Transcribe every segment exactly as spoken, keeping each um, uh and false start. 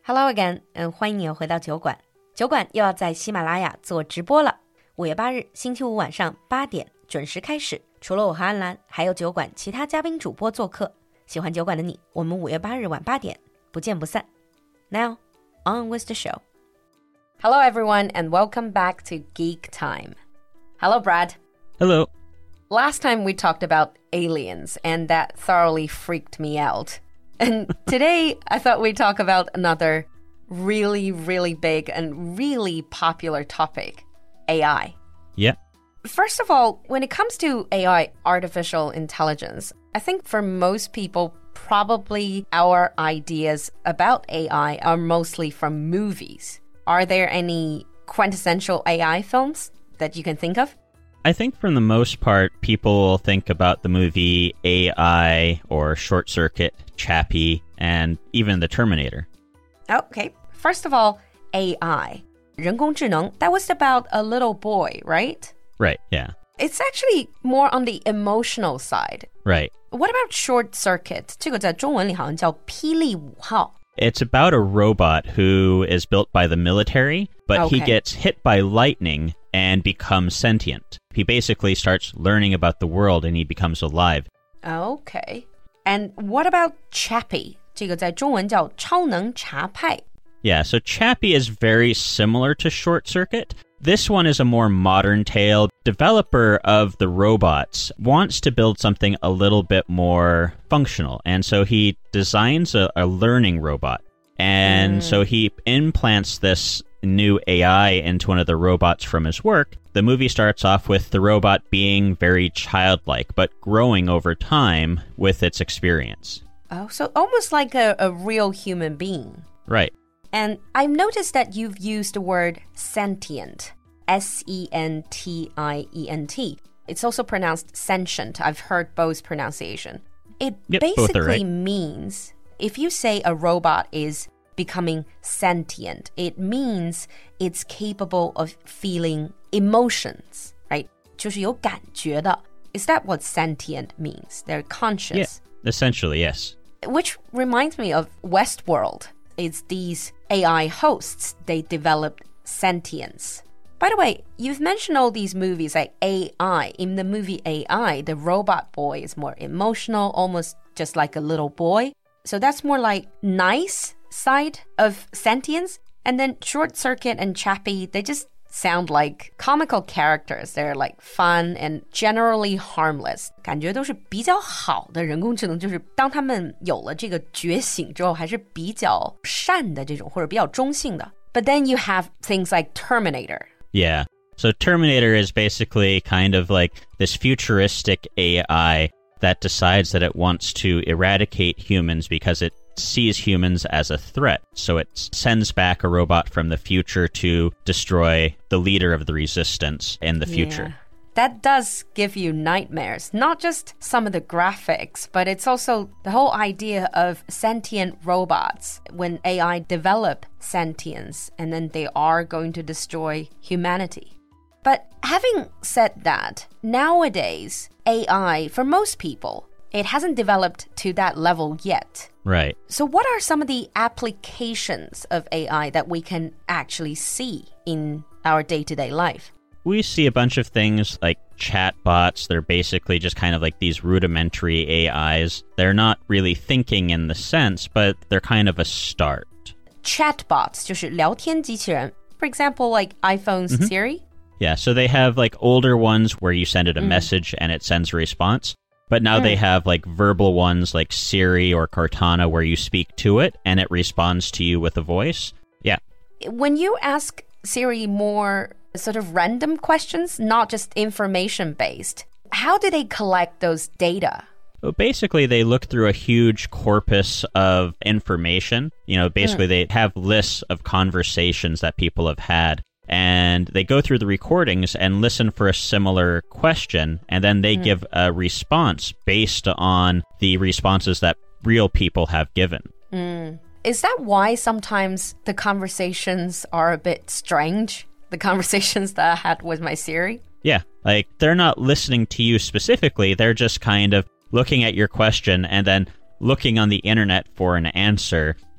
Hello again， 嗯，欢迎你又回到酒馆。酒馆又要在喜马拉雅做直播了。五月八日星期五晚上八点准时开始。除了我和安兰，还有酒馆其他嘉宾主播做客。喜欢酒馆的你，我们五月八日晚八点不见不散。Now, on with the show. Hello everyone and welcome back to Geek Time. Hello Brad. Hello. Last time we talked about aliens and that thoroughly freaked me out. And today, I thought we'd talk about another really, really big and really popular topic, A I. Yeah. First of all, when it comes to A I, artificial intelligence, I think for most people, probably our ideas about A I are mostly from movies. Are there any quintessential A I films that you can think of? I think for the most part, people will think about the movie A I or Short Circuit, Chappie, and even The Terminator. Okay. First of all, A I. 人工智能, that was about a little boy, right? Right, yeah. It's actually more on the emotional side. Right. What about Short Circuit? 这个在中文里好像叫霹雳五号. It's about a robot who is built by the military, but okay. he gets hit by lightning and becomes sentient. He basically starts learning about the world and he becomes alive. Okay. And what about Chappie? 这个在中文叫超能查派. Yeah, so Chappie is very similar to Short Circuit. This one is a more modern tale. Developer of the robots wants to build something a little bit more functional, and so he designs a, a learning robot. And mm. so he implants this new A I into one of the robots from his work. The movie starts off with the robot being very childlike, but growing over time with its experience. Oh, so almost like a, a real human being. Right. And I've noticed that you've used the word sentient, S E N T I E N T. It's also pronounced sentient. I've heard both pronunciation. It yep, basically right. means, if you say a robot is becoming sentient, it means it's capable of feeling emotions, right? 就是有感觉的. Is that what sentient means? They're conscious. Yeah, essentially, yes. Which reminds me of Westworld. It's these A I hosts. They developed sentience. By the way, you've mentioned all these movies like A I. In the movie A I, the robot boy is more emotional, almost just like a little boy. So that's more like nice side of sentience. And then Short Circuit and Chappie, they just sound like comical characters. They're like fun and generally harmless. 感觉都是比较好的人工智能，就是当他们有了这个觉醒之后，还是比较善的这种，或者比较中性的。But then you have things like Terminator. Yeah. So Terminator is basically kind of like this futuristic A I that decides that it wants to eradicate humans because it sees humans as a threat. So it sends back a robot from the future to destroy the leader of the resistance in the future. Yeah. That does give you nightmares. Not just some of the graphics, but it's also the whole idea of sentient robots. When A I develop sentience, and then they are going to destroy humanity. But having said that, nowadays, A I, for most people, it hasn't developed to that level yet. Right. So what are some of the applications of A I that we can actually see in our day-to-day life? We see a bunch of things like chatbots. They're basically just kind of like these rudimentary A Is. They're not really thinking in the sense, but they're kind of a start. Chatbots, 就是聊天机器人. For example, like iPhone's mm-hmm. Siri? Yeah, so they have like older ones where you send it a mm. message and it sends a response. But now mm. they have like verbal ones like Siri or Cortana where you speak to it and it responds to you with a voice. Yeah. When you ask Siri more sort of random questions, not just information-based, how do they collect those data? Well, basically, they look through a huge corpus of information. You know, basically, mm. they have lists of conversations that people have had. And they go through the recordings and listen for a similar question, and then they mm. give a response based on the responses that real people have given. Mm. Is that why sometimes the conversations are a bit strange? The conversations that I had with my Siri? Yeah, like they're not listening to you specifically, they're just kind of looking at your question and then looking on the internet for an answer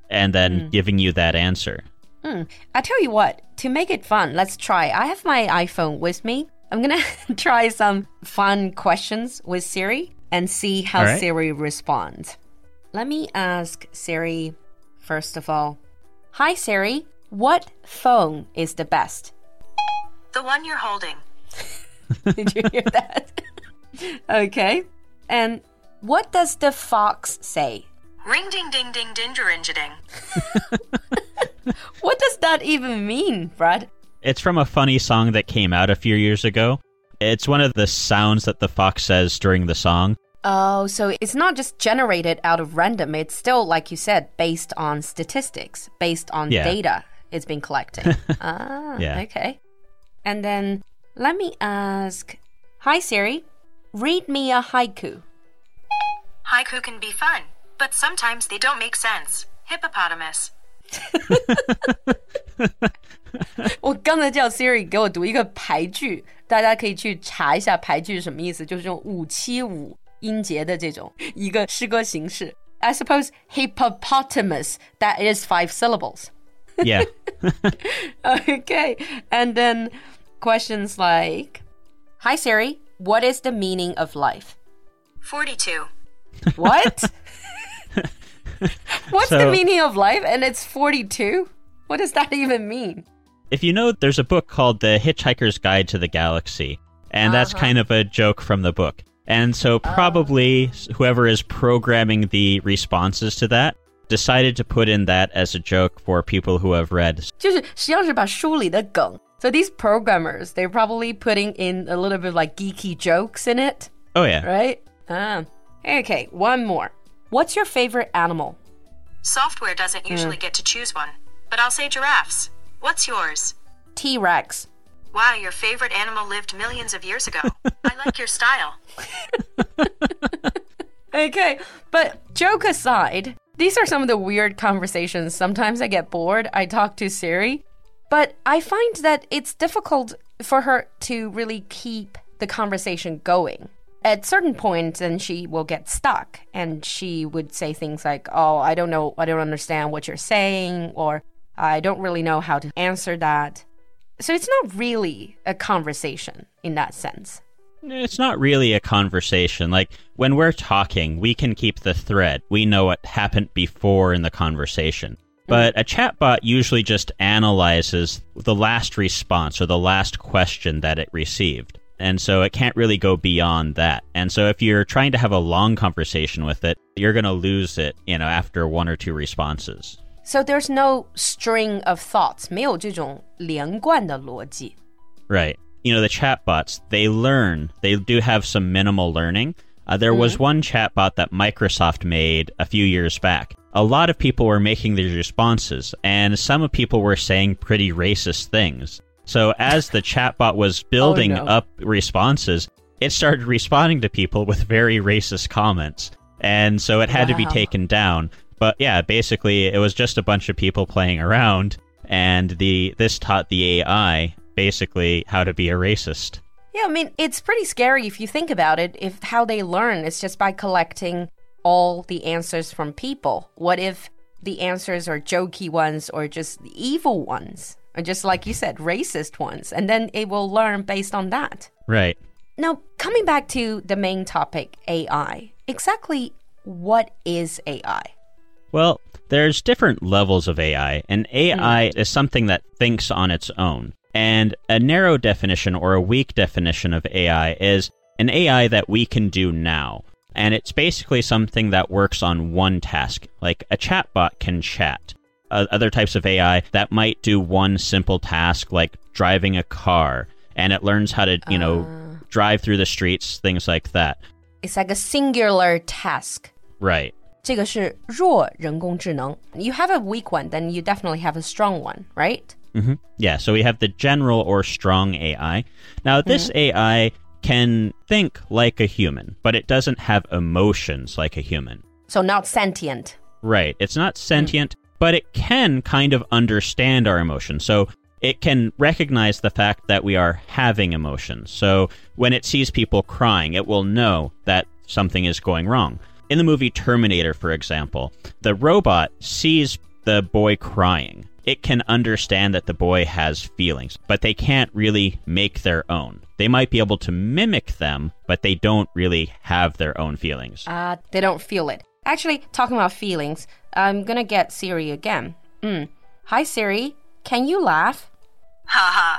and then Mm. giving you that answer. Mm. I tell you what, to make it fun, let's try. I have my iPhone with me. I'm going to try some fun questions with Siri and see how All right. Siri responds. Let me ask Siri, first of all. Hi, Siri. What phone is the best? The one you're holding. Did you hear that? Okay. And what does the fox say? Ring ding ding ding dinger ding. What does that even mean, Brad? It's from a funny song that came out a few years ago. It's one of the sounds that the fox says during the song. Oh, so it's not just generated out of random. It's still, like you said, based on statistics, based on Yeah. data it's been collecting. ah, Yeah. okay. And then let me ask, hi Siri, read me a haiku. Haiku can be fun, but sometimes they don't make sense. Hippopotamus. 我刚才叫 Siri 给我读一个排句，大家可以去查一下排句是什么意思，就是这种五七五音节的这种一个诗歌形式。I suppose hippopotamus, that is five syllables. Yeah. Okay, and then questions like, hi Siri, what is the meaning of life? forty-two. What? What's So- the meaning of life? And it's forty-two? What does that even mean? If you know, there's a book called The Hitchhiker's Guide to the Galaxy, and that's Uh-huh. kind of a joke from the book. And so probably whoever is programming the responses to that decided to put in that as a joke for people who have read. 就是实际上是把书里的梗. So these programmers, they're probably putting in a little bit of like geeky jokes in it, Oh, yeah. right? Ah. Okay, one more. What's your favorite animal? Software doesn't usually get to choose one, but I'll say giraffes. What's yours? T-Rex. Wow, your favorite animal lived millions of years ago. I like your style. Okay, but joke aside, these are some of the weird conversations. Sometimes I get bored, I talk to Siri, but I find that it's difficult for her to really keep the conversation going. At certain points, then she will get stuck and she would say things like, oh, I don't know, I don't understand what you're saying, or I don't really know how to answer that. So it's not really a conversation in that sense. It's not really a conversation. Like, when we're talking, we can keep the thread. We know what happened before in the conversation. But a chatbot usually just analyzes the last response or the last question that it received. And so it can't really go beyond that. And so if you're trying to have a long conversation with it, you're going to lose it, you know, after one or two responses. So there's no string of thoughts, 没有这种连贯的逻辑. Right. You know, the chatbots, they learn. They do have some minimal learning. Uh, there was one chatbot that Microsoft made a few years back. A lot of people were making these responses, and some people were saying pretty racist things. So as the chatbot was building Oh, no. up responses, it started responding to people with very racist comments. And so it had to be Wow. taken down. But yeah, basically it was just a bunch of people playing around, and the this taught the A I basically how to be a racist. Yeah, I mean, it's pretty scary if you think about it. If how they learn is just by collecting all the answers from people. What if the answers are jokey ones or just the evil ones? Or just like you said, racist ones. And then it will learn based on that. Right. Now, coming back to the main topic, A I. Exactly what is A I? Well, there's different levels of A I, and A I is something that thinks on its own. And a narrow definition or a weak definition of A I is an A I that we can do now. And it's basically something that works on one task. Like a chatbot can chat. Uh, other types of A I that might do one simple task like driving a car, and it learns how to, you know, drive through the streets, things like that. It's like a singular task. Right. 这个是弱人工智能. You have a weak one, then you definitely have a strong one, right? Mm-hmm. Yeah, so we have the general or strong A I. Now, this A I can think like a human, but it doesn't have emotions like a human. So not sentient. Right. It's not sentient, but it can kind of understand our emotions. So it can recognize the fact that we are having emotions. So when it sees people crying, it will know that something is going wrong. In the movie Terminator, for example, the robot sees the boy crying. It can understand that the boy has feelings, but they can't really make their own. They might be able to mimic them, but they don't really have their own feelings. Ah, uh, they don't feel it. Actually, talking about feelings, I'm gonna get Siri again. Mm. Hi, Siri. Can you laugh? Ha ha.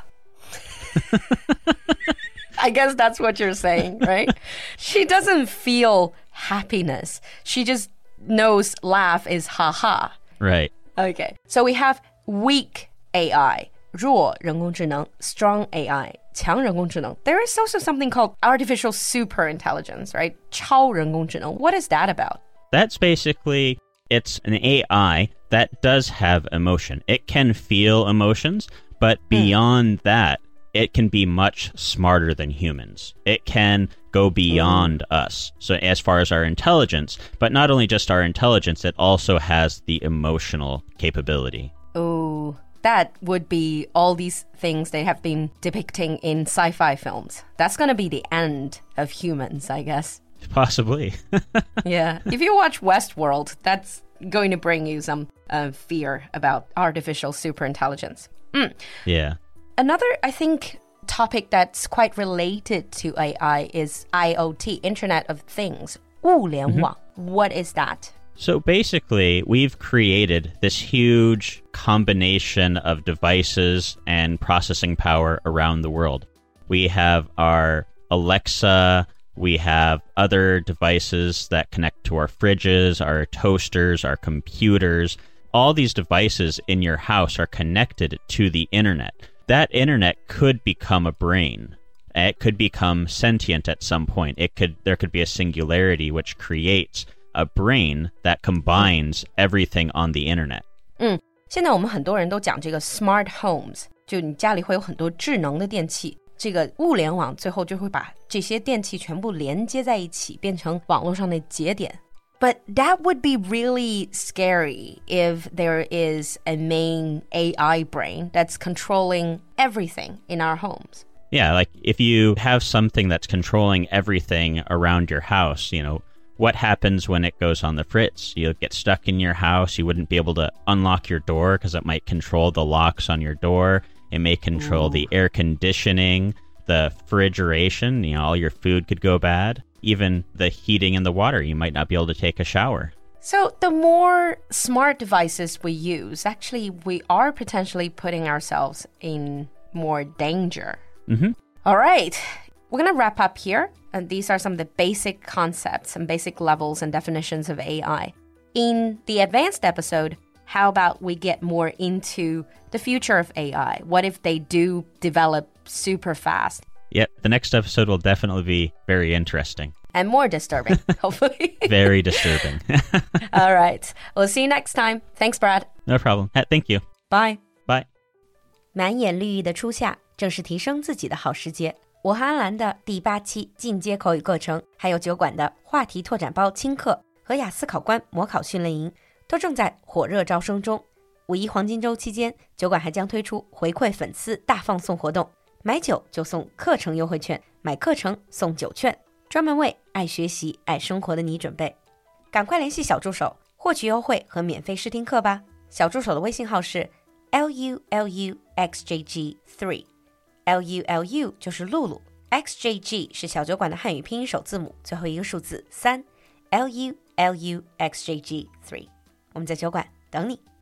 I guess that's what you're saying, right? She doesn't feel happiness. She just knows laugh is ha ha. Right. Okay. So we have weak A I, 弱人工智能, strong A I, 强人工智能. There is also something called artificial superintelligence, right? 超人工智能. What is that about? That's basically, it's an A I that does have emotion. It can feel emotions, but beyond mm. that, it can be much smarter than humans. It can go beyond mm. us. So as far as our intelligence, but not only just our intelligence, it also has the emotional capability. Oh, that would be all these things they have been depicting in sci-fi films. That's going to be the end of humans, I guess. Possibly. Yeah. If you watch Westworld, that's going to bring you some uh, fear about artificial superintelligence. Mm. Yeah. Another, I think, topic that's quite related to A I is I O T, Internet of Things. 物联网. Mm-hmm. What is that? So basically, we've created this huge combination of devices and processing power around the world. We have our Alexa, we have other devices that connect to our fridges, our toasters, our computers. All these devices in your house are connected to the internet. That internet could become a brain. It could become sentient at some point. It could there could be a singularity which creates a brain that combines everything on the internet. 嗯，现在我们很多人都讲这个 smart homes， 就你家里会有很多智能的电器，这个物联网最后就会把这些电器全部连接在一起，变成网络上的节点。But that would be really scary if there is a main A I brain that's controlling everything in our homes. Yeah, like if you have something that's controlling everything around your house, you know, what happens when it goes on the fritz? You'll get stuck in your house. You wouldn't be able to unlock your door because it might control the locks on your door. It may control Ooh. the air conditioning, the refrigeration. You know, all your food could go bad. Even the heating and the water, you might not be able to take a shower. So the more smart devices we use, actually, we are potentially putting ourselves in more danger. Mm-hmm. All right. We're going to wrap up here. And these are some of the basic concepts and basic levels and definitions of A I. In the advanced episode, how about we get more into the future of A I? What if they do develop super fast? Yep, the next episode will definitely be very interesting. And more disturbing, hopefully. Very disturbing. All right. We'll see you next time. Thanks, Brad. No problem. Thank you. Bye. Bye. 满眼绿意的初夏，正是提升自己的好时节。我和安兰的第八期进阶口语课程，还有酒馆的话题拓展包轻课和雅思考官模考训练营，都正在火热招生中。五一黄金周期间，酒馆还将推出回馈粉丝大放送活动。买酒就送课程优惠券，买课程送酒券，专门为爱学习、爱生活的你准备。赶快联系小助手，获取优惠和免费试听课吧。小助手的微信号是 L U L U X J G three， L U L U 就是露露 ，X J G 是小酒馆的汉语拼音首字母，最后一个数字三 ，L U L U X J G three。我们在酒馆等你。